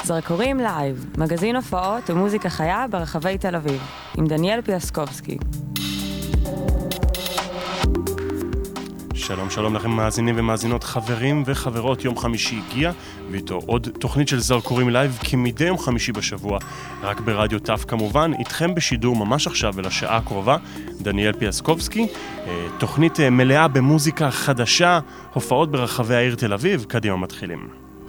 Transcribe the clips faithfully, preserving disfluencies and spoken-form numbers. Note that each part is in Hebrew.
זרקורים לייב, מגזין הופעות ומוזיקה חיה ברחבי תל אביב, עם דניאל פיאסקובסקי. שלום שלום לכם מאזינים ומאזינות, חברים וחברות. יום חמישי הגיע ואיתו עוד תוכנית של זרקורים לייב כמדי יום חמישי בשבוע, רק ברדיו טף כמובן. איתכם בשידור ממש עכשיו ולשעה הקרובה דניאל פיאסקובסקי, תוכנית מלאה במוזיקה חדשה, הופעות ברחבי העיר תל אביב. קדימה, מתחילים.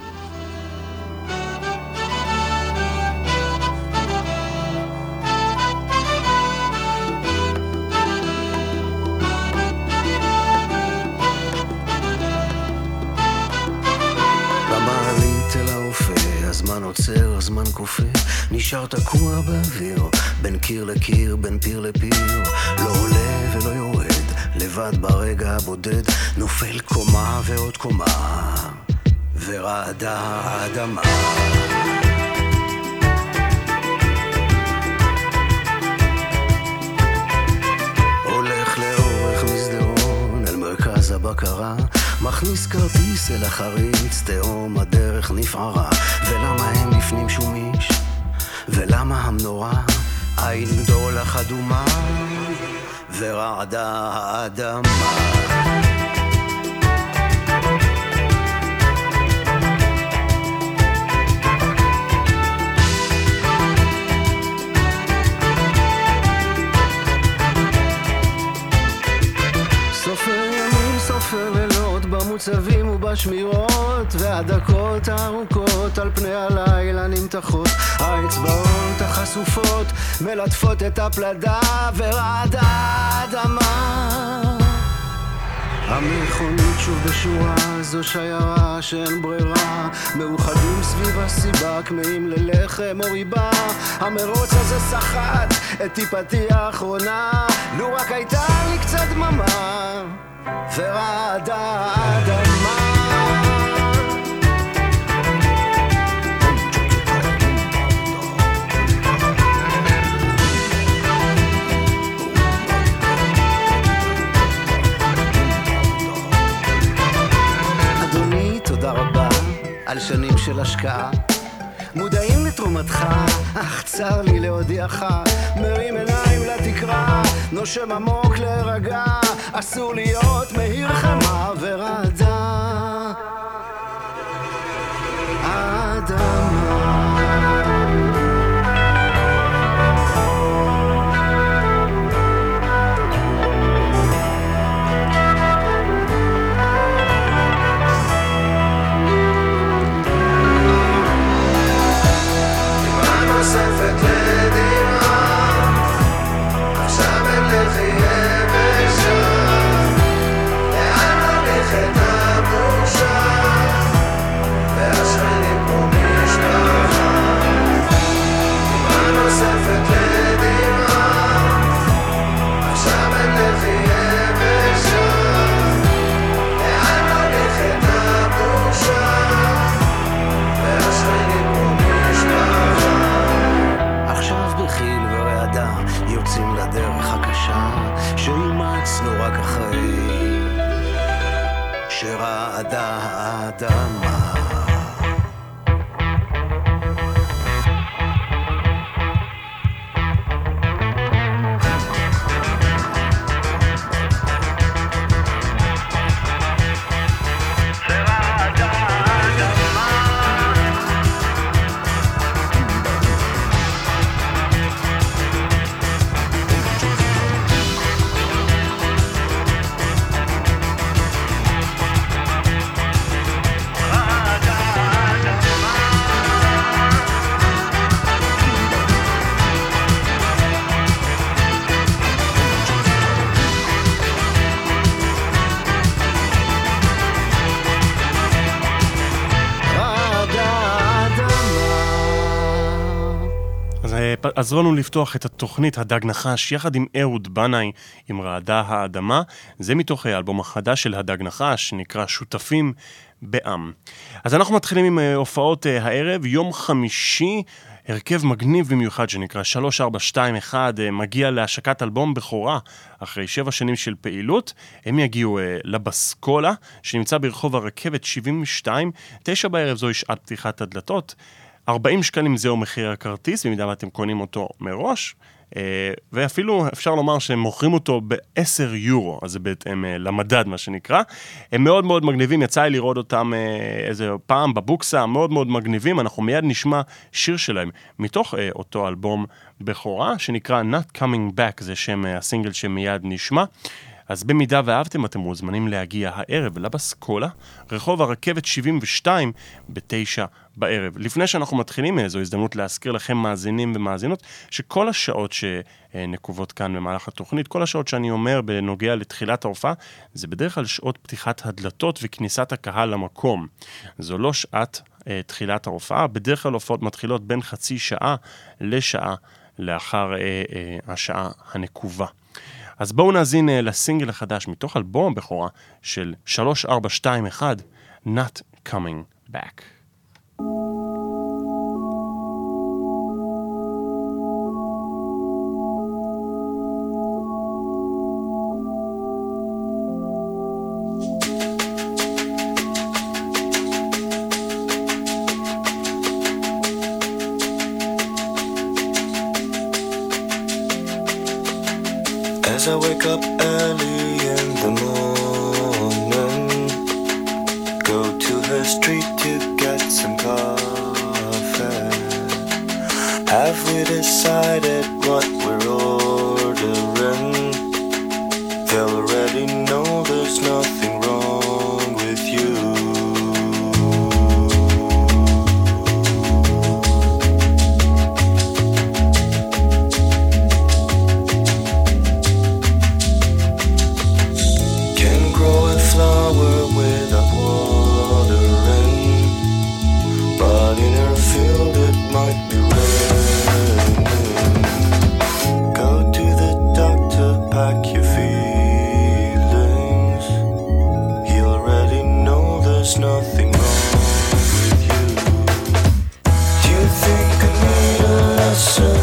עוצר, הזמן קופא, נשאר תקוע באוויר, בין קיר לקיר, בין פיר לפיר, לא עולה ולא יורד, לבד ברגע הבודד, נופל קומה ועוד קומה, ורעדה האדמה. הולך לאורך מסדרון אל מרכז הבקרה, מכניס כרטיס אל החריץ, תהום הדרך נפערה. ולמה הם לפנים שומיש? ולמה המנורה? עין גדולה חדומה ורעדה האדמה. סופר ימים, סופר לילות, במוצבים ובשמירות, והדקות הארוכות על פני הלילה נמתחות, האצבעות החשופות מלטפות את הפלדה ורעדה האדמה. המכונית שוב בשורה, זו שיירה שאין ברירה, מאוחדים סביב הסיבה, כמאים ללחם או ריבה. המרוץ הזה סחט את טיפתי האחרונה, לו רק הייתה לי קצת דממה ורעדה האדמה. אדוני, תודה רבה על שנים של השקעה, מודעים לתרומתך, אך צר לי להודיעך, מרים עיניים לתקרה, נושם עמוק להירגע, אסור להיות מהיר חמה ורעדה האדמה. נוספת לדמעה, עכשיו אין לכי יבשה, לאן הולכת הבושה, והשכנים פה משפחה. דמעה נוספת לדמעה, עכשיו אין לכי יבשה, לאן הולכת הבושה, והשכנים פה משפחה. עכשיו בחיל ורעדה יוצאים לדרך הקשה, שאימצנו רק אחרי שרעדה האדמה. עזרו לנו לפתוח את התוכנית הדג נחש יחד עם אהוד בנאי עם רעדה האדמה. זה מתוך האלבום החדש של הדג נחש, נקרא שותפים בעם. אז אנחנו מתחילים עם הופעות הערב. יום חמישי הרכב מגניב במיוחד שנקרא שלוש ארבע שתיים אחת מגיע להשקת אלבום בכורה אחרי שבע שנים של פעילות. הם יגיעו לבסקולה שנמצא ברחוב הרכבת שבעים ושתיים, תשע בערב זוהי שעת פתיחת הדלתות. ארבעים שקלים זהו מחיר הכרטיס, במידה ואתם קונים אותו מראש, ואפילו אפשר לומר שהם מוכרים אותו ב-עשרה יורו, אז זה בהתאם למדד מה שנקרא. הם מאוד מאוד מגניבים, יצא לי לראות אותם איזה פעם בבוקסה, מאוד מאוד מגניבים, אנחנו מיד נשמע שיר שלהם, מתוך אותו אלבום בכורה, שנקרא Not Coming Back, זה שם הסינגל שמיד נשמע. אז במידה ואהבתם, אתם מוזמנים להגיע הערב לבסקולה, רחוב הרכבת שבעים ושתיים, בתשע בערב. לפני שאנחנו מתחילים, זו הזדמנות להזכיר לכם מאזינים ומאזינות, שכל השעות שנקובות כאן במהלך התוכנית, כל השעות שאני אומר בנוגע לתחילת ההופעה, זה בדרך כלל שעות פתיחת הדלתות וכניסת הקהל למקום. זו לא שעת אה, תחילת ההופעה, בדרך כלל הופעות מתחילות בין חצי שעה לשעה לאחר אה, אה, השעה הנקובה. אז בואו נאזין לסינגל החדש מתוך אלבום הבכורה של שלוש ארבע שתיים אחת, Not Coming Back. As I wake up early in the morning, go to the street to get some coffee. Have we decided what we're ordering? They'll already know there's nothing wrong with you. Flower without watering, but in her field it might be raining. Go to the doctor, pack your feelings. He already know there's nothing wrong with you. Do you think I need a lesson?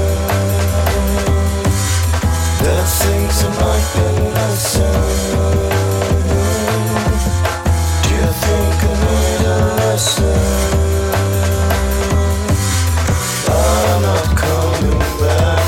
There's things I might be missing. But I'm not coming back.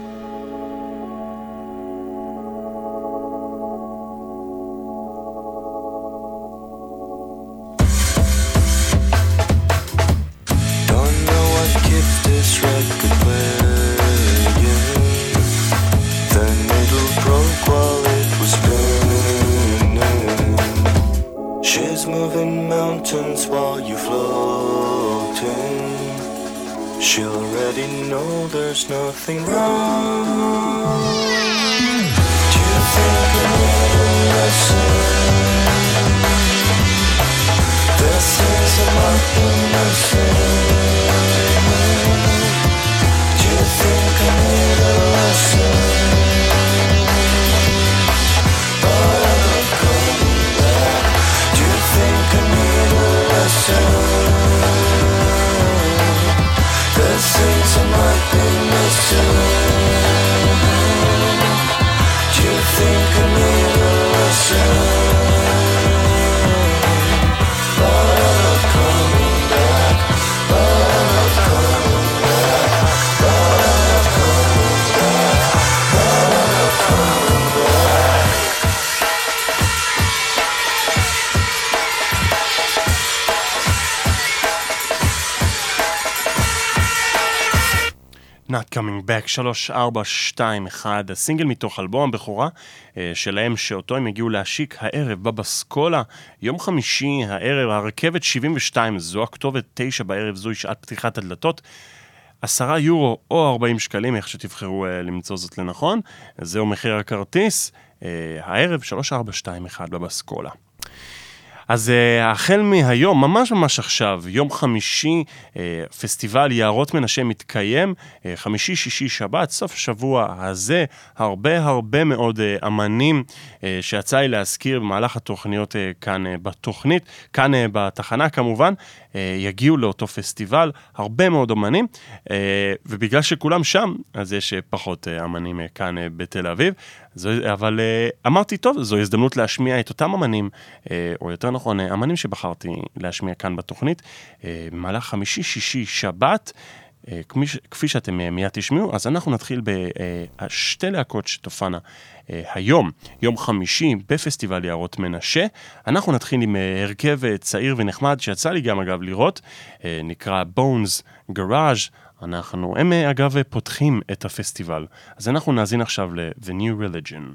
Don't know what gift this record playing. The needle broke while it was spinning. She's moving mountains while you're floating. She'll already know there's nothing wrong. Do you think I need a lesson? There's things I might be missing. Do you think I need a lesson? But I'm not coming back. Do you think I need a lesson? There's things I might be missing. Do you think I need a lesson? But I'm not coming back. But I'm not coming back. But I'm not coming back. But I'm not coming back. Not Coming Back, שלוש ארבע שתיים אחת, הסינגל מתוך אלבום הבכורה שלהם, שאותו הם הגיעו להשיק הערב בבסקולה, יום חמישי הערב, הרכבת שבעים ושתיים, זו הכתובת, תשע בערב, זו שעת פתיחת הדלתות, עשרה יורו או ארבעים שקלים, איך שתבחרו למצוא זאת לנכון, זהו מחיר הכרטיס, הערב שלוש ארבע שתיים אחת בבסקולה. אז uh, החל מהיום, ממש ממש עכשיו, יום חמישי, uh, פסטיבל יערות מנשה מתקיים, uh, חמישי, שישי, שבת, סוף השבוע הזה, הרבה הרבה מאוד uh, אמנים uh, שיצא לי להזכיר במהלך התוכניות uh, כאן uh, בתוכנית, כאן uh, בתחנה כמובן, uh, יגיעו לאותו פסטיבל, הרבה מאוד אמנים, uh, ובגלל שכולם שם, אז יש uh, פחות uh, אמנים uh, כאן uh, בתל אביב, זו, אבל uh, אמרתי טוב, זו הזדמנות להשמיע את אותם אמנים, uh, או יותר נכון, נכון, אמנים שבחרתי להשמיע כאן בתוכנית, במהלך חמישי, שישי, שבת, כפי שאתם מיד תשמעו, אז אנחנו נתחיל בשתי להקות שתופענה היום, יום חמישי, בפסטיבל יערות מנשה. אנחנו נתחיל עם הרכב צעיר ונחמד, שיצא לי גם אגב לראות, נקרא Bones Garage. אנחנו, הם אגב פותחים את הפסטיבל. אז אנחנו נאזין עכשיו ל-The New Religion.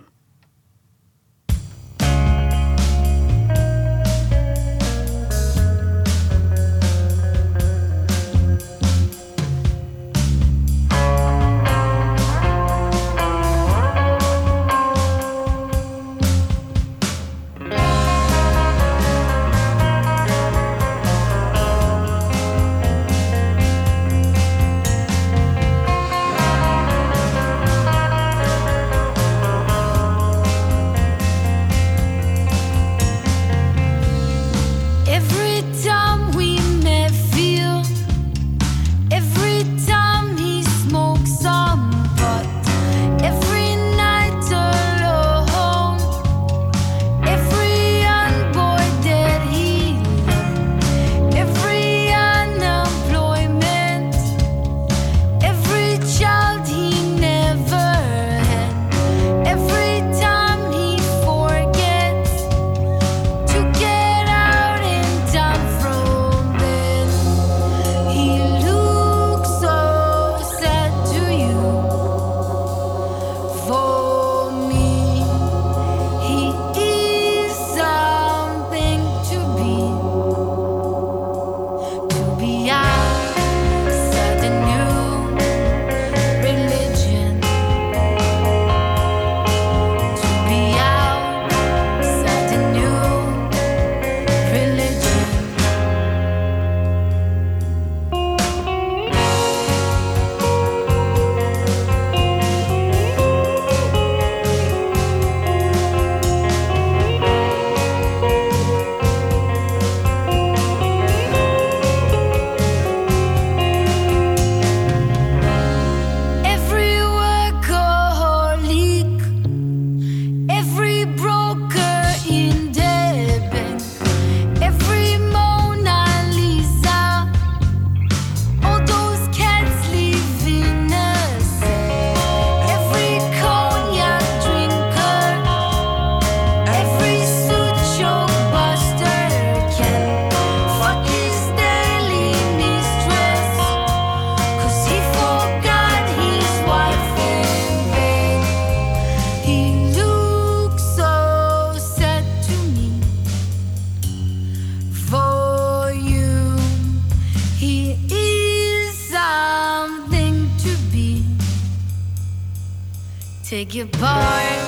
Take your part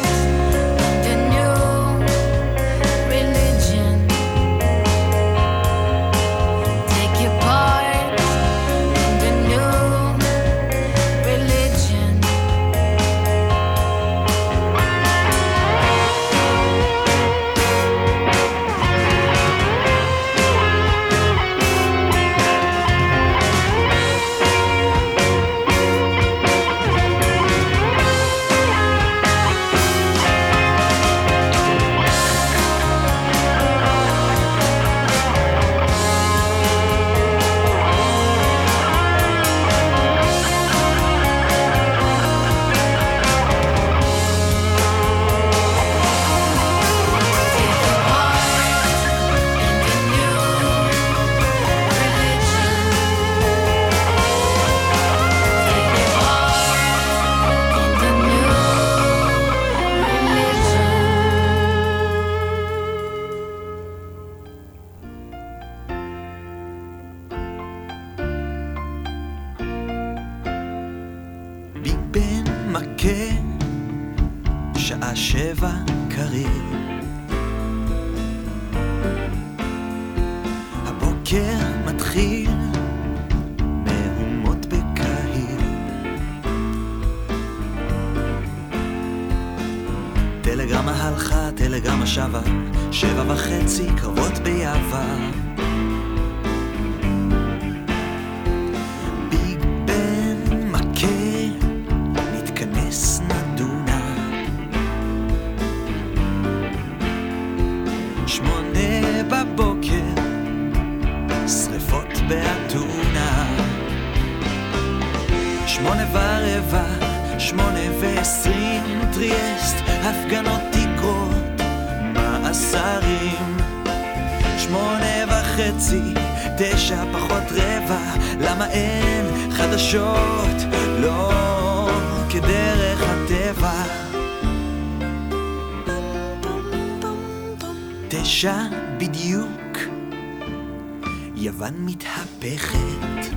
in the new religion. Take your part in the new religion. שעה שבע קריב, הבוקר מתחיל מהומות בקהיר, טלגרמה הלכה, טלגרמה שווה, שבע וחצי קרבות ביעבר, ביג בן מכה, נתכנס נדונה, שמונה בבית שמונה ורבע, שמונה ועשרים, טריאסט, הפגנות תקרות, מאסרים. שמונה וחצי, תשע פחות רבע, למה אין חדשות? לא כדרך הטבע. תשע בדיוק, יוון מתהפכת.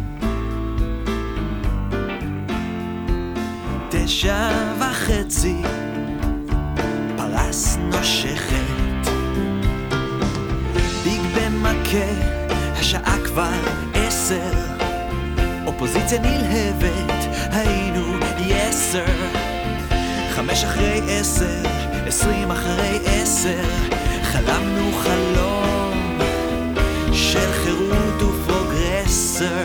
תשע וחצי, פרס נושכת. ביג בן מכה, השעה כבר עשר. אופוזיציה נלהבת, היינו יסר. חמש אחרי עשר, עשרים אחרי עשר, חלמנו חלום של חירות ופרוגרסר.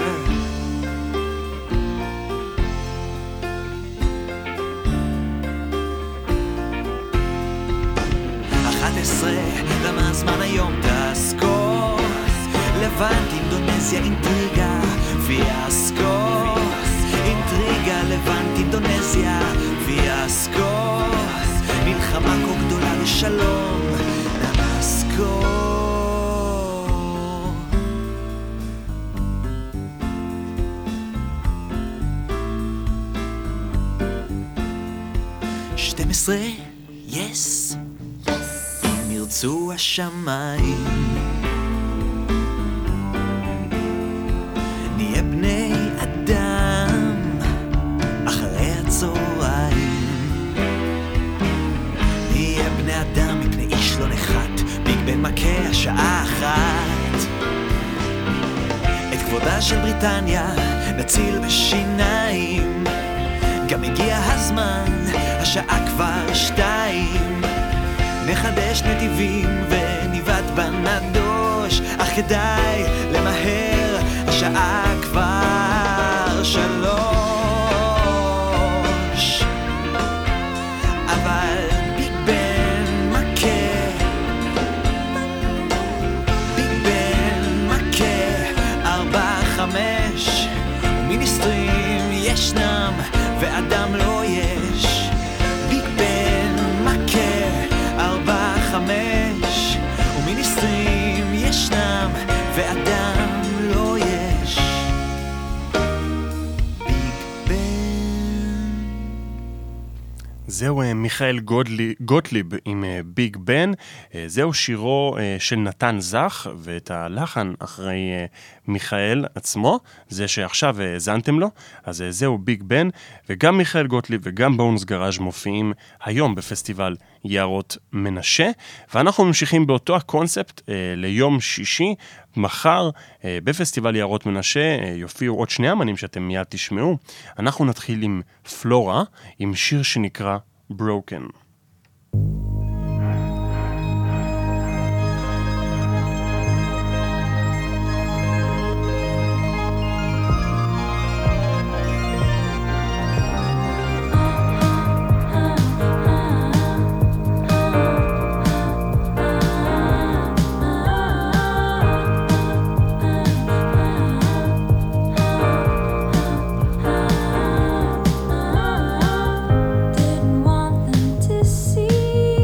אחת עשרה, למה הזמן היום תסקור? לבנט, אינדונזיה, אינטריגה, פיאסקו. אינטריגה, לבנט, אינדונזיה, פיאסקו. מלחמה כה גדולה לשלום, נמאסקו. שתים עשרה, יס, אם ירצו השמיים, נהיה בני אדם אחרי הצהריים. נהיה בני אדם מפני איש לא נחת, ביג בן מכה השעה אחת. את כבודה של בריטניה נציל בשיניים, גם הגיע הזמן, השעה כבר שתיים. נחדש נתיבים וניבט בנדוש, אך כדאי למהר, השעה כבר שלוש. אבל ביג בן מכה, ביג בן מכה, ארבע חמש, ומיניסטרים ישנם ואדם לא יש. ביג בן מכה, ארבע חמש, ומיניסטרים ישנם ואדם לא יש. ביג בן. זהו מיכאל גוטליב, גוטליב עם ביג בן. זהו שירו של נתן זך, ואת הלחן אחרי מיכאל עצמו, זה שעכשיו האזנתם לו. אז זהו ביג בן, וגם מיכאל גוטליב וגם בונס גראז' מופיעים היום בפסטיבל יערות מנשה, ואנחנו ממשיכים באותו הקונספט ליום שישי. מחר בפסטיבל יערות מנשה יופיעו עוד שני אמנים שאתם מיד תשמעו. אנחנו נתחיל עם פלורה, עם שיר שנקרא Broken. Didn't want them to see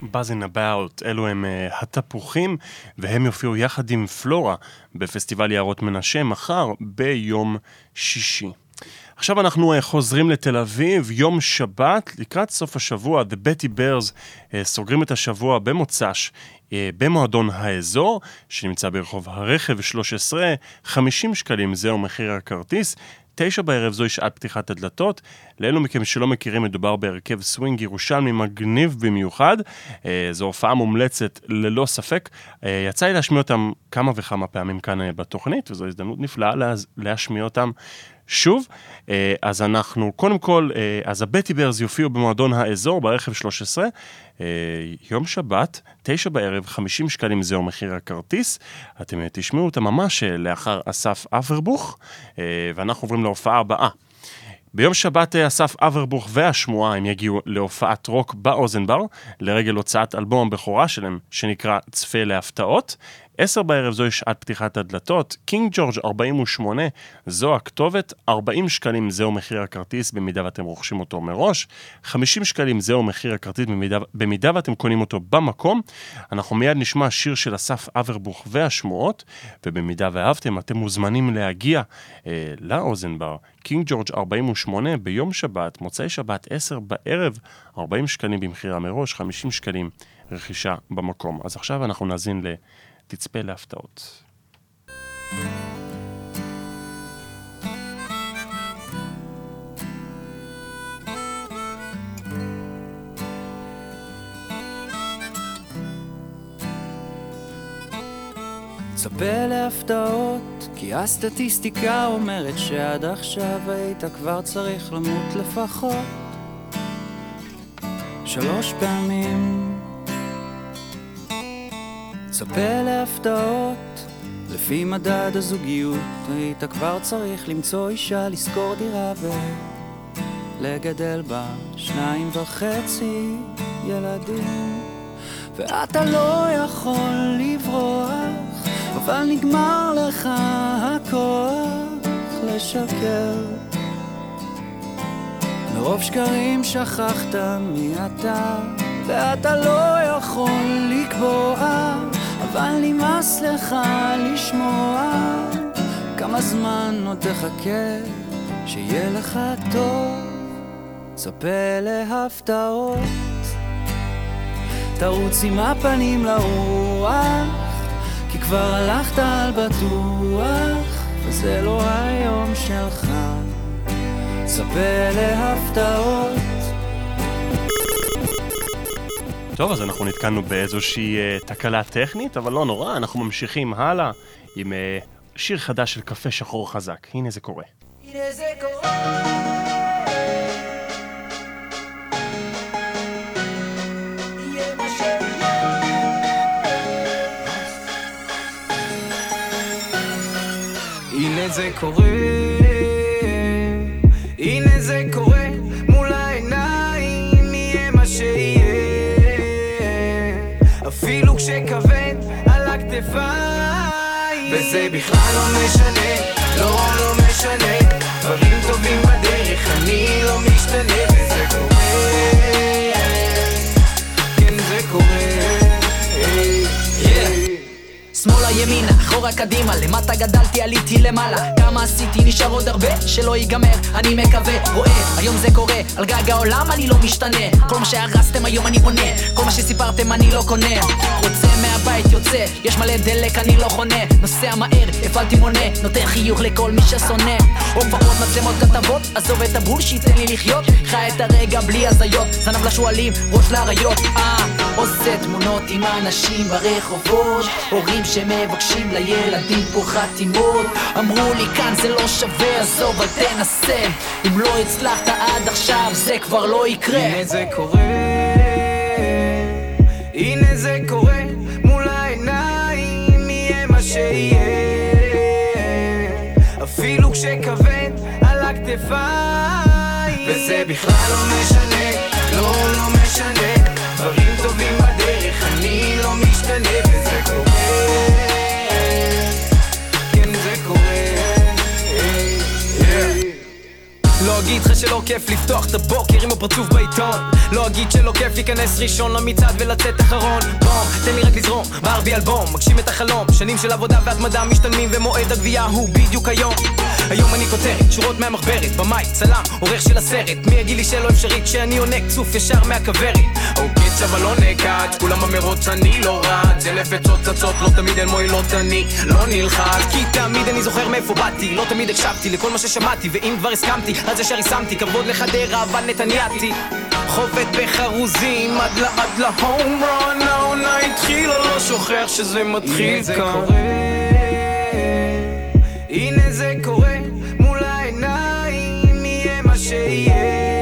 Buzzing About, אלו הם uh, התפוחים, והם יופיעו יחד עם פלורה בפסטיבל יערות מנשה מחר ביום שישי. עכשיו אנחנו uh, חוזרים לתל אביב, יום שבת, לקראת סוף השבוע, The Betty Bears uh, סוגרים את השבוע במוצ"ש, uh, במועדון האזור, שנמצא ברחוב הרכב שלוש עשרה, חמישים שקלים, זהו מחיר הכרטיס, תשע בערב זוהי שעת פתיחת הדלתות. לאלו מכם שלא מכירים, מדובר בהרכב סווינג ירושלמי מגניב במיוחד. זו הופעה מומלצת ללא ספק. יצא לי להשמיע אותם כמה וכמה פעמים כאן בתוכנית, וזו הזדמנות נפלאה להשמיע אותם שוב. אז אנחנו, קודם כל, אז הבטי ברז יופיעו במועדון האזור ברכב שלוש עשרה, יום שבת, תשע בערב, חמישים שקלים זהו מחיר הכרטיס. אתם תשמעו אותה ממש לאחר אסף אברבוך, ואנחנו עוברים להופעה הבאה. ביום שבת אסף אברבוך והשמועה הם יגיעו להופעת רוק באוזן בר, לרגל הוצאת אלבום הבכורה שלהם, שנקרא צפה להפתעות. עשר בערב זוהי שעת פתיחת הדלתות, קינג ג'ורג' ארבעים ושמונה, זו הכתובת, ארבעים שקלים זהו מחיר הכרטיס במידה ואתם רוכשים אותו מראש, חמישים שקלים זהו מחיר הכרטיס במידה, במידה ואתם קונים אותו במקום. אנחנו מיד נשמע שיר של אסף אברבוך והשמועות, ובמידה ואהבתם אתם מוזמנים להגיע אה, לאוזן בר, קינג ג'ורג' ארבעים ושמונה ביום שבת, מוצאי שבת עשר בערב, ארבעים שקלים במחירה מראש, חמישים שקלים רכישה במקום. אז עכשיו אנחנו נאזין ל... תצפה להפתעות. צפה להפתעות, כי הסטטיסטיקה אומרת שעד עכשיו היית כבר צריך למות לפחות שלוש פעמים. צפה להפתעות, לפי מדד הזוגיות היית כבר צריך למצוא אישה, לשכור דירה ולגדל בה שניים וחצי ילדים, ואתה לא יכול לברוח, אבל נגמר לך הכוח לשקר. מרוב שקרים שכחת מי אתה, ואתה לא יכול לקבוע, אבל נמאס לך לשמוע. כמה זמן עוד תחכה שיהיה לך טוב? צפה להפתעות, תרוץ עם הפנים לרוח, כי כבר הלכת על בטוח, וזה לא היום שלך. צפה להפתעות. טוב, אז אנחנו נתקענו באיזושהי uh, תקלה טכנית, אבל לא נורא, אנחנו ממשיכים הלאה עם uh, שיר חדש של קפה שחור חזק. הנה זה קורה. הנה זה קורה. יהיה מה שיהיה. הנה זה קורה. הנה זה קורה. מול העיניים יהיה מה שיהיה. אפילו כשכבד על הכתפיים, וזה בכלל לא משנה, לא לא משנה, דברים טובים בדרך, אני לא משתנה, וזה קורה, כן זה קורה. שמאלה ימינה, אחורה קדימה, למטה גדלתי עליתי למעלה, כמה עשיתי נשאר עוד הרבה שלא ייגמר, אני מקווה, רואה, היום זה קורה, על גג העולם אני לא משתנה, כל מה שהרסתם היום אני בונה, כל מה שסיפרתם אני לא קונה, רוצה מהבית יוצא, יש מלא דלק אני לא חונה, נוסע מהר, הפעלתי מונה, נותן חיוך לכל מי ששונא, הופעות מצלמות כתבות, עזוב את הבולשיט תן לי לחיות, חי את הרגע בלי הזיות, זנב לשואלים, ראש לאריות, אה, עושה תמונות עם אנשים ברחובות, הורים שמבקשים לילדים פה חתימות, אמרו לי כאן זה לא שווה, עזוב אל תנסה, אם לא הצלחת עד עכשיו זה כבר לא יקרה. הנה זה קורה, הנה זה קורה, מול העיניים יהיה מה שיהיה, אפילו כשכבד על הכתפיים, וזה בכלל לא משנה, לא לא משנה, דברים טובים בדרך, אני לא משתנה, וזה קורה, כן זה קורה. לא אגיד לך שלא כיף לפתוח את הבוקר עם הפרצוף בעיתון. לא אגיד שלא כיף להיכנס ראשון למצעד ולצאת אחרון. בום, תן לי רק לזרום, בער בי אלבום, מגשים את החלום. שנים של עבודה והתמדה משתלמים ומועד הגבייה הוא בדיוק היום. היום אני כותרת, שורות מהמחברת, במאי, צלם, עורך של הסרט. מי יגיד לי שלא אפשרית שאני עונק צוף ישר מהכברת. אוקיי, צ'אבה לא נקד, כולם המרוץ אני לא רץ. אלף עצות צצות, לא תמיד אין מועילות אני לא נלחץ. כי תמיד אני זוכר מאיפה באתי, לא תמיד הקשבתי לכל מה ששמעתי. ואם כבר הסכמתי, אז ישר הסמתי, כבוד לחדרה אבל נתנייתי. חובט בחרוזים עד לעד להום רון. העונה התחילה, לא שוכח שזה מתחיל כאן. הנה זה קורה מול העיניים, יהיה מה שיהיה,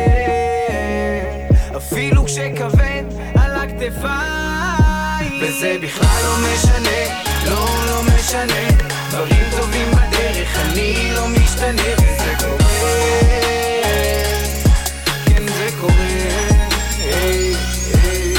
אפילו כשכבד על הכתפיים. וזה בכלל לא משנה, לא לא משנה, דברים טובים בדרך, אני לא משתנה. וזה קורה, כן זה קורה, היי היי.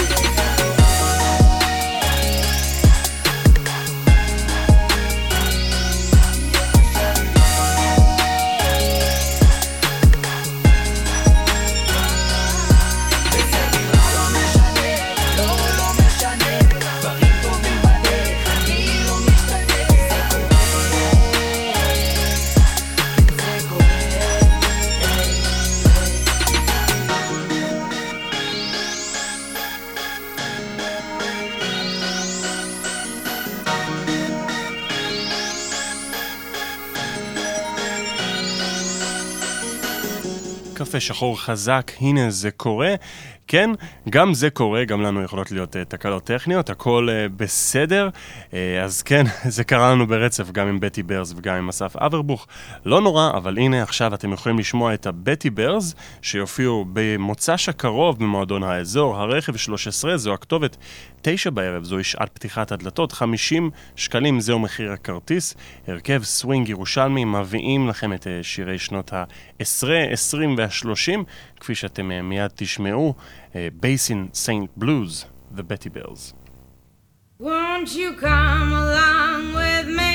קפה שחור חזק, הנה זה קורה. כן, גם זה קורה, גם לנו יכולות להיות uh, תקלות טכניות, הכל uh, בסדר. Uh, אז כן, זה קרה לנו ברצף, גם עם בטי ברז וגם עם אסף אברבוך. לא נורא, אבל הנה עכשיו אתם יכולים לשמוע את הבטי ברז, שיופיעו במוצ"ש הקרוב במועדון האזור. הרכב שלוש עשרה, זו הכתובת, תשע בערב, זוהי שעת פתיחת הדלתות, חמישים שקלים, זהו מחיר הכרטיס. הרכב סווינג ירושלמי, מביאים לכם את uh, שירי שנות ה-עשרה, עשרים וה-שלושים, כפי שאתם uh, מיד תשמעו. Uh, Basin Saint Blues, the Betty Bells. Won't you come along with me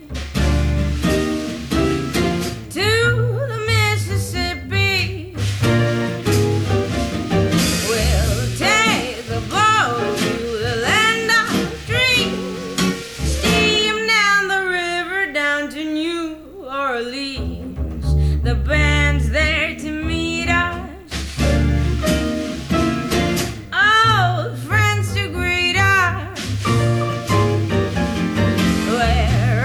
to the Mississippi? We'll take the boat to the land of dreams, steam down the river down to New Orleans. The band's there to meet us, friends to greet us. We're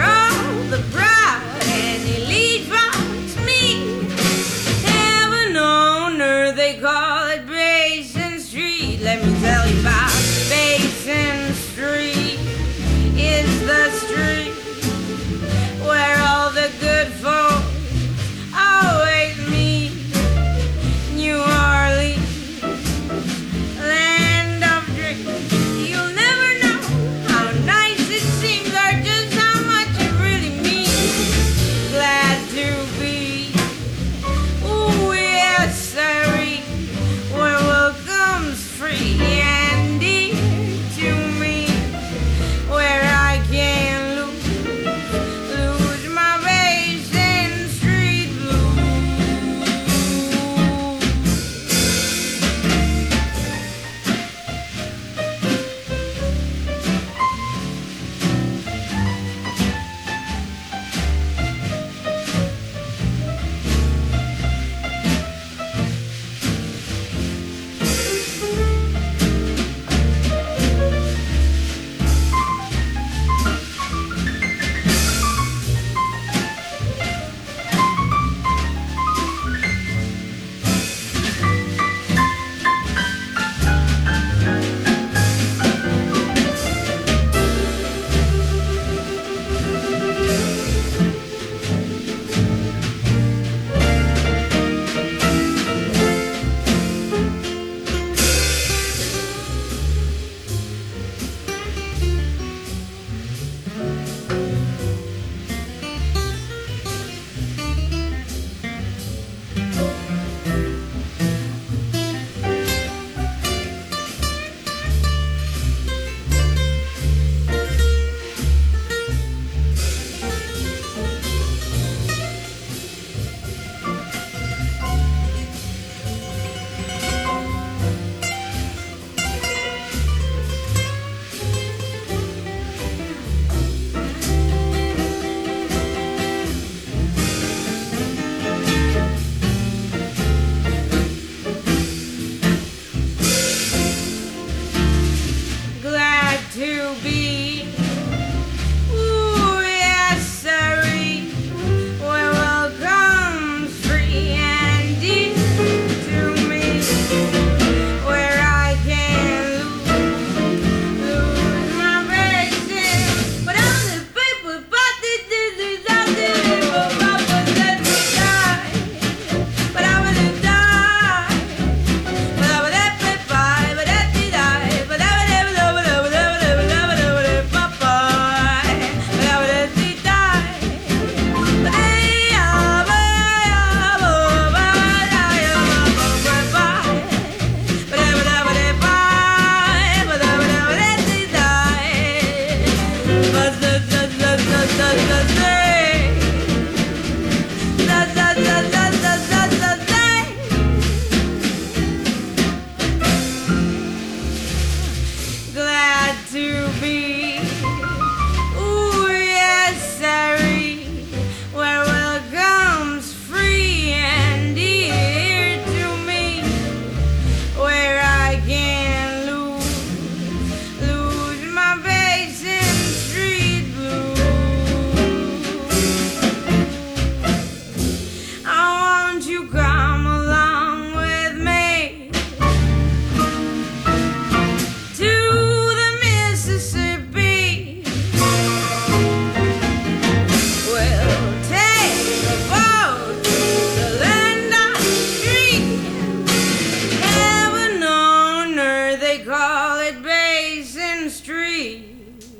Street.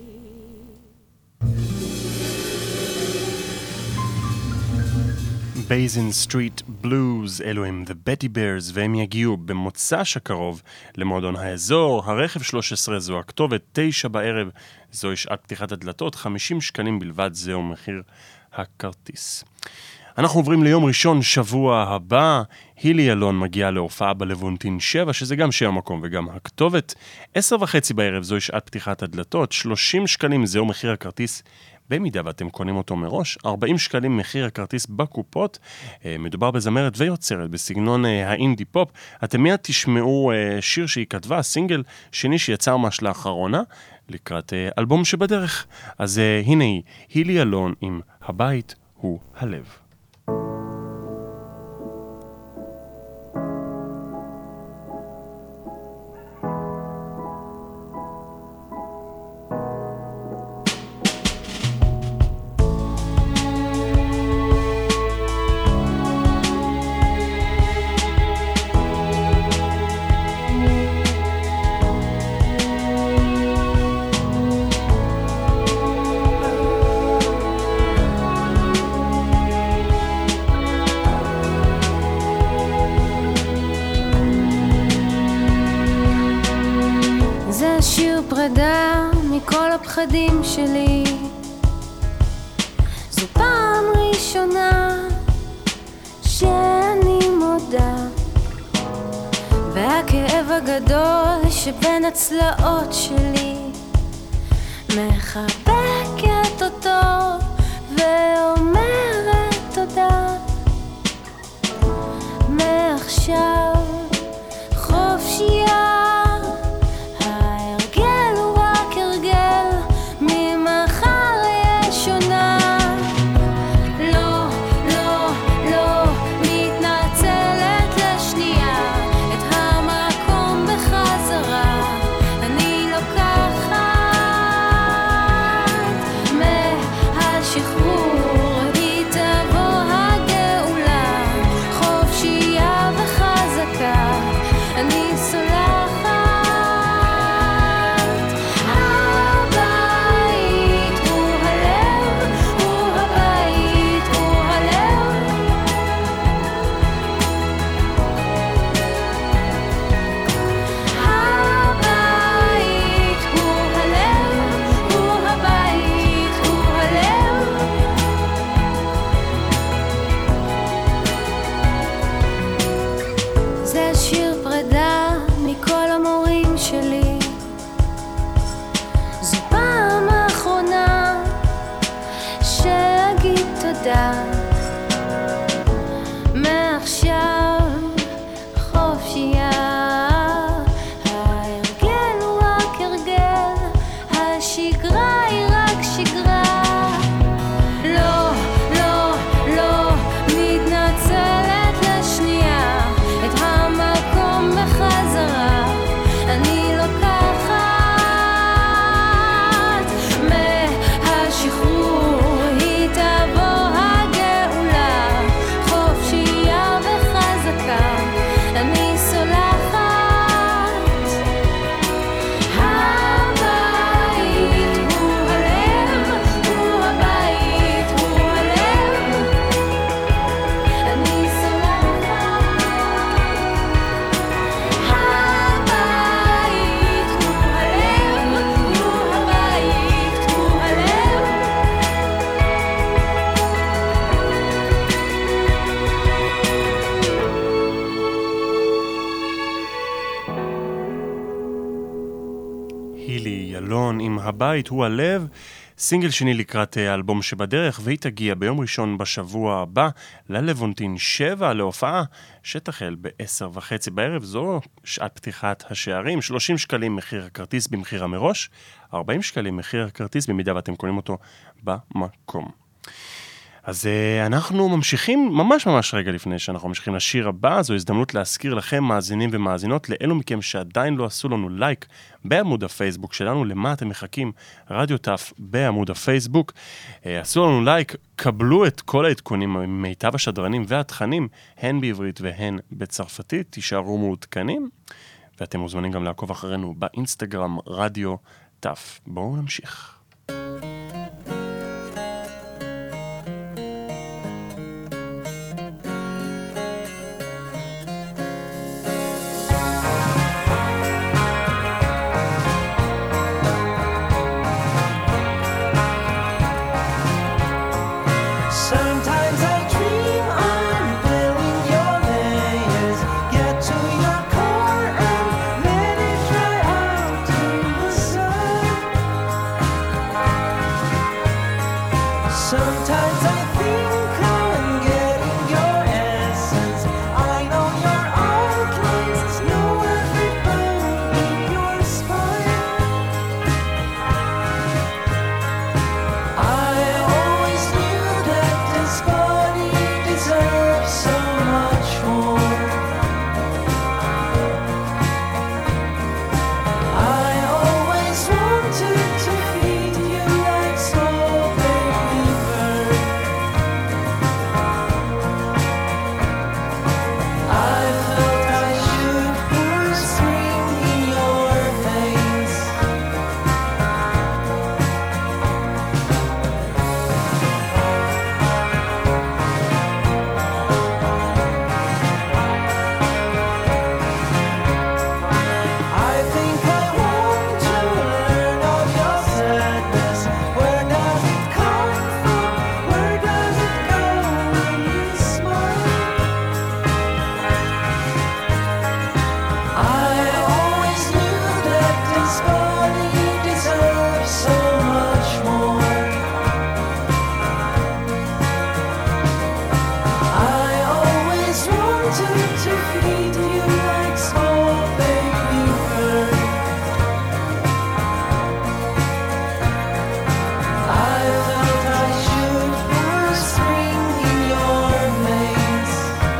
בייזן סטריט בלוז, אלו הם The Betty Bears, והם יגיעו במוצ"ש הקרוב למועדון האזור. הרכב שלוש עשרה זו הכתובת, תשע בערב, זוהי שעת פתיחת הדלתות, חמישים שקלים בלבד, זהו מחיר הכרטיס. אנחנו עוברים ליום ראשון שבוע הבא. הילי אלון מגיעה להופעה בלוונטין שבע, שזה גם שם המקום וגם הכתובת. עשר וחצי בערב, זוהי שעת פתיחת הדלתות, שלושים שקלים, זהו מחיר הכרטיס. במידה ואתם קונים אותו מראש, ארבעים שקלים מחיר הכרטיס בקופות. מדובר בזמרת ויוצרת בסגנון האינדי פופ. אתם מיד תשמעו שיר שהיא כתבה, סינגל שני שיצא ממש לאחרונה, לקראת אלבום שבדרך. אז הנה היא, הילי אלון עם הבית הוא הלב. מכל הפחדים שלי, זו פעם ראשונה שאני מודה, והכאב הגדול שבין הצלעות שלי מחבקת אותו ואומרת תודה. מעכשיו חופשייה, הבית הוא הלב, סינגל שני לקראת האלבום שבדרך, והיא תגיע ביום ראשון בשבוע הבא ללוונטין שבע להופעה שתחל בעשר וחצי בערב. זו שעת פתיחת השערים, שלושים שקלים מחיר הכרטיס במחיר המראש, ארבעים שקלים מחיר הכרטיס במידה ואתם קונים אותו במקום. אז uh, אנחנו ממשיכים ממש ממש רגע לפני שאנחנו ממשיכים לשיר הבא. זו הזדמנות להזכיר לכם מאזינים ומאזינות, לאלו מכם שעדיין לא עשו לנו לייק בעמוד הפייסבוק שלנו, למה אתם מחכים? רדיו טף בעמוד הפייסבוק. uh, עשו לנו לייק, קבלו את כל העדכונים ממיטב השדרנים והתכנים, הן בעברית והן בצרפתית, תישארו מעודכנים, ואתם מוזמנים גם לעקוב אחרינו באינסטגרם רדיו תף. בואו נמשיך. Sometimes I dream I'm building your layers. Get to your core and let it dry out in the sun. Sometimes I think I'm getting your essence. I know your outlines, know every bone in your spine. I always knew that this body deserves so much more. I always wanted to feed you like small baby bird. I felt I should pour spring in your veins. I think I want to learn of your sadness. Where does it come from? Where does it go when you smile? I always knew that this body deserves so much more. I always wanted to feed you like small baby bird. I felt I should pour spring in your veins.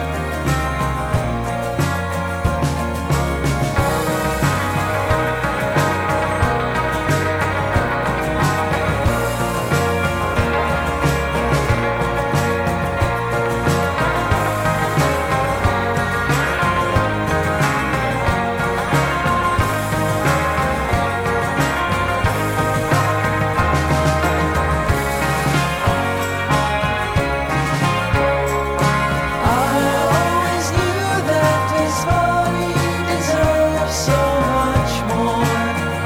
I always knew that this body deserves so much more.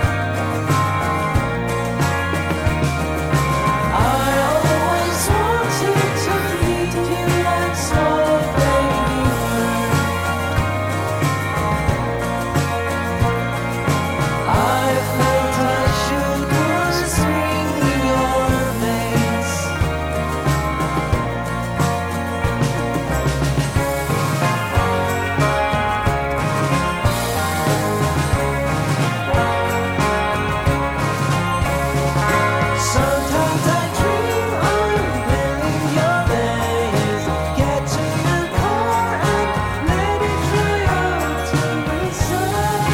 I always wanted to feed you like small baby bird. I felt I should pour spring in your veins. Sometimes I dream I'm building your layers. Get to your core and let it dry out in the sun.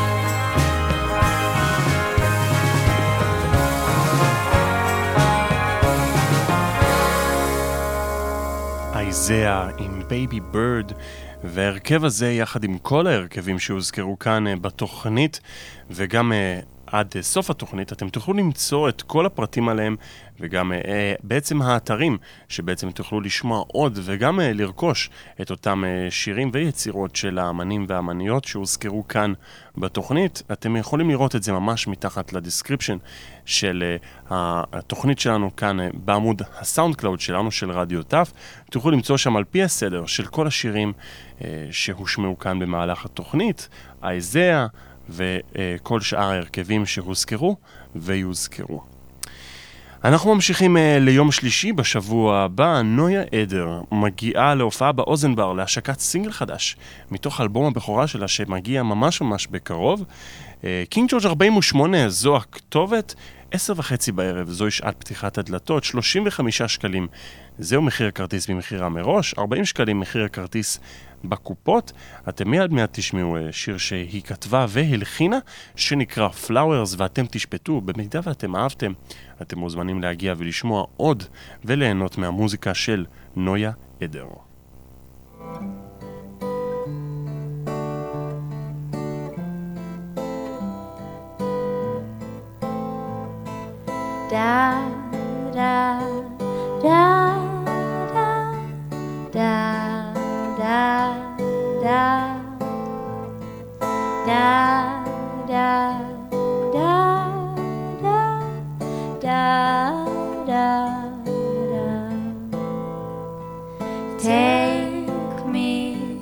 אייזאה עם בייבי בירד, והרכב הזה יחד עם כל ההרכבים שהוזכרו כאן אה, בתוכנית וגם אה, עד אה, סוף התוכנית אתם תוכלו למצוא את כל הפרטים עליהם וגם אה, בעצם האתרים שבעצם תוכלו לשמוע עוד וגם אה, לרכוש את אותם אה, שירים ויצירות של האמנים והאמניות שהוזכרו כאן בתוכנית. אתם יכולים לראות את זה ממש מתחת לדיסקריפשן של uh, התוכנית שלנו כאן uh, בעמוד הסאונד קלאוד שלנו של רדיו טף. תוכלו למצוא שם על פי הסדר של כל השירים uh, שהושמעו כאן במהלך התוכנית, אייזאה וכל uh, שאר ההרכבים שהוזכרו ויוזכרו. אנחנו ממשיכים uh, ליום שלישי בשבוע הבא. נויה עדר מגיעה להופעה באוזן בר להשקת סינגל חדש מתוך אלבום הבכורה שלה שמגיע ממש ממש בקרוב. קינג ג'ורג' ארבעים ושמונה זו הכתובת, עשר וחצי בערב, זוהי שעת פתיחת הדלתות, שלושים וחמישה שקלים. זהו מחיר הכרטיס במחירה מראש, ארבעים שקלים מחיר הכרטיס בקופות. אתם מיד מיד תשמעו שיר שהיא כתבה והלחינה, שנקרא Flowers, ואתם תשפטו. במידה ואתם אהבתם, אתם מוזמנים להגיע ולשמוע עוד וליהנות מהמוזיקה של נויה עדר. da da da da da da da da da da da. Take me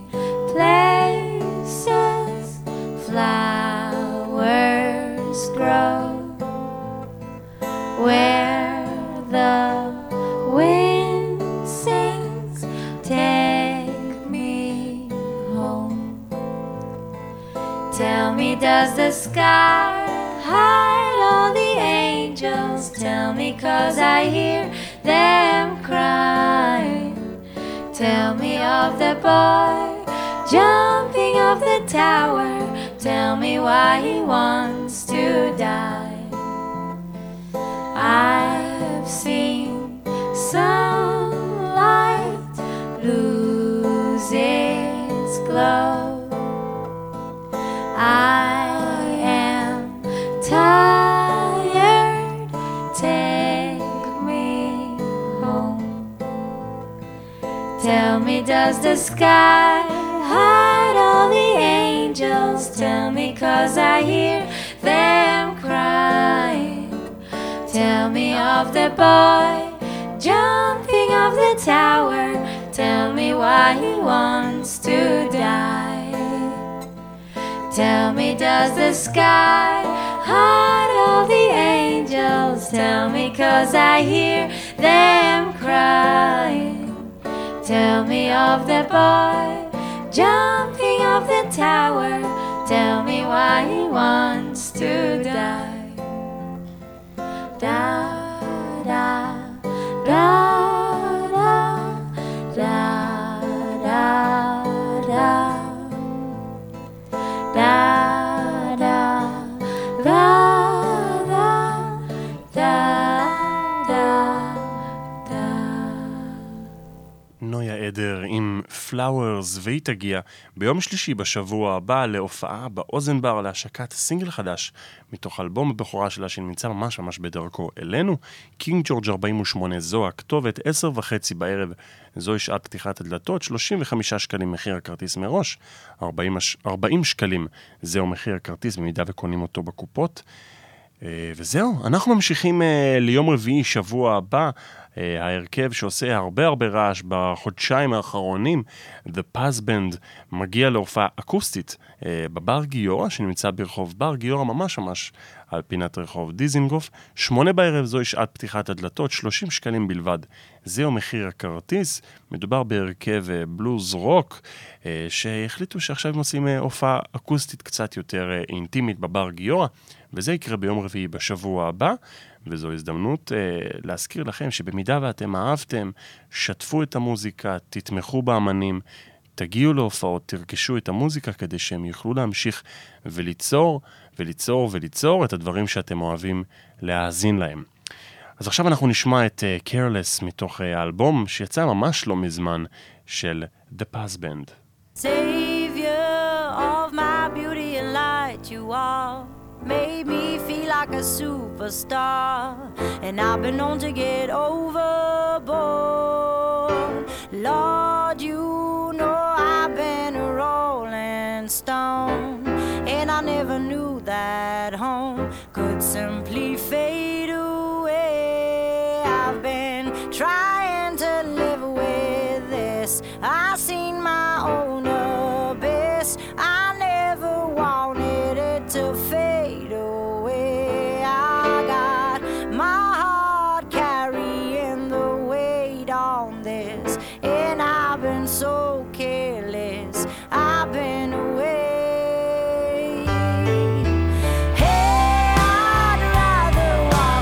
places flowers grow, where the wind sings. Take me home. Tell me, does the sky hide all the angels? Tell me, 'cause I hear them crying. Tell me of the boy jumping off the tower. Tell me why he wants to die. I've seen sunlight lose its glow. I am tired. Take me home. Tell me, does the sky hide all the angels? Tell me, 'cause I hear them crying. Tell me of the boy jumping off the tower. Tell me why he wants to die. Tell me, does the sky hide all the angels? Tell me, 'cause I hear them crying. Tell me of the boy jumping off the tower. Tell me why he wants to die. Da da da da da da da da da da da da. נויה עדר עם פלאוורס, והיא תגיע ביום שלישי בשבוע הבא להופעה באוזן בר להשקת סינגל חדש מתוך אלבום הבכורה שלה שנמצא ממש ממש בדרכו אלינו. קינג ג'ורג' ארבעים ושמונה, זו הכתובת, עשר וחצי בערב, זוהי שעת פתיחת הדלתות, שלושים וחמישה שקלים מחיר הכרטיס מראש, ארבעים, ארבעים שקלים זהו מחיר הכרטיס במידה וקונים אותו בקופות. וזהו, אנחנו ממשיכים ליום רביעי שבוע הבא, ההרכב שעושה הרבה הרבה רעש בחודשיים האחרונים, The Paz Band, מגיע להופעה אקוסטית בבר גיורא, שנמצא ברחוב בר גיורא, ממש ממש על פינת רחוב דיזינגוף. שמונה בערב, זוהי שעת פתיחת הדלתות, שלושים שקלים בלבד. זהו מחיר הכרטיס. מדובר בהרכב בלוז רוק, שהחליטו שעכשיו הם עושים הופעה אקוסטית קצת יותר אינטימית בבר גיורא, וזה יקרה ביום רביעי בשבוע הבא. וזו הזדמנות אה, להזכיר לכם שבמידה ואתם אהבתם, שתפו את המוזיקה, תתמכו באמנים, תגיעו להופעות, תרכשו את המוזיקה כדי שהם יוכלו להמשיך וליצור וליצור וליצור את הדברים שאתם אוהבים להאזין להם. אז עכשיו אנחנו נשמע את uh, Careless מתוך uh, האלבום שיצא ממש לא מזמן של The Paz Band. Savior of my beauty and light, you are made me feel like a superstar, and I've been known to get overboard. Lord, you know I've been a rolling stone, and I never knew that home could simply fade away. I've been trying to live with this. I've seen my own abyss. I never wanted it to fade away. I got my heart carrying the weight on this, and I've been so careless. I've been away. Hey, I'd rather walk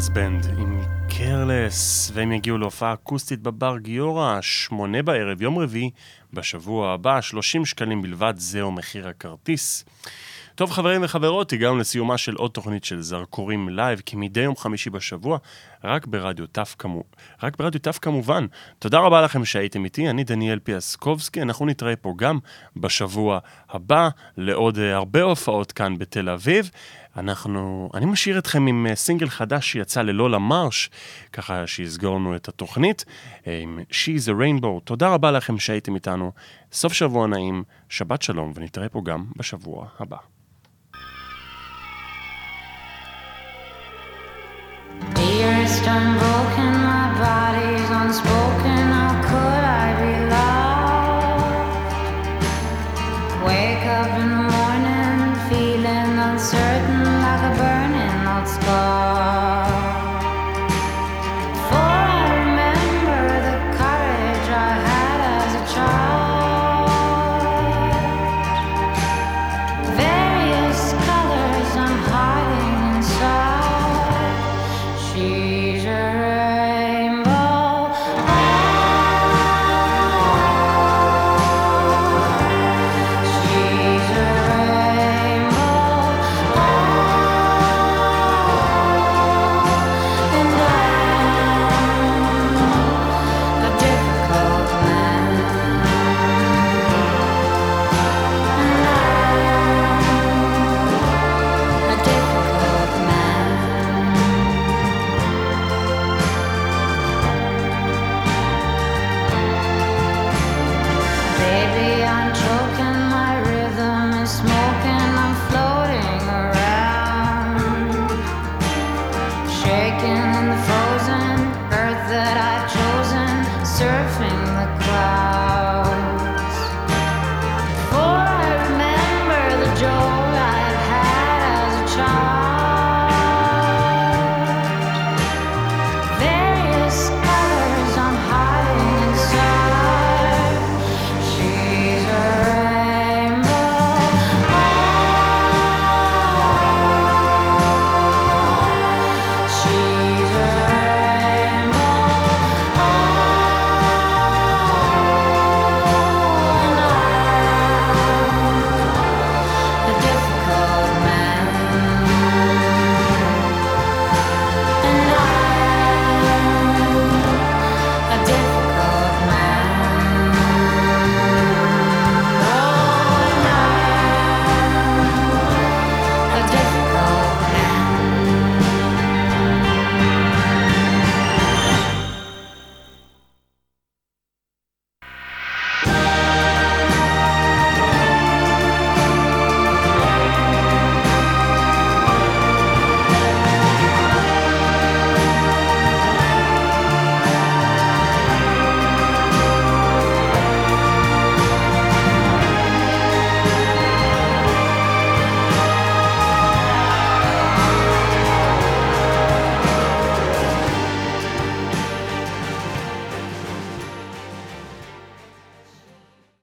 ברס בנד עם קרלס, והם יגיעו להופעה אקוסטית בבר גיורא, שמונה בערב, יום רביעי, בשבוע הבא, שלושים שקלים בלבד, זהו מחיר הכרטיס. טוב חברים וחברות, הגענו לסיומה של עוד תוכנית של זרקורים לייב, כי מדי יום חמישי בשבוע, רק ברדיו תף כמו, רק ברדיו תף כמובן. תודה רבה לכם שהייתם איתי, אני דניאל פיאסקובסקי, אנחנו נתראה פה גם בשבוע הבא, לעוד הרבה הופעות כאן בתל אביב. אנחנו, אני משאיר אתכם עם סינגל חדש שיצא ללולה מרש, ככה שיסגור לנו את התוכנית, עם She's a Rainbow. תודה רבה לכם שהייתם איתנו, סוף שבוע נעים, שבת שלום, ונתראה פה גם בשבוע הבא. Dearest, unbroken, my body's unspoken.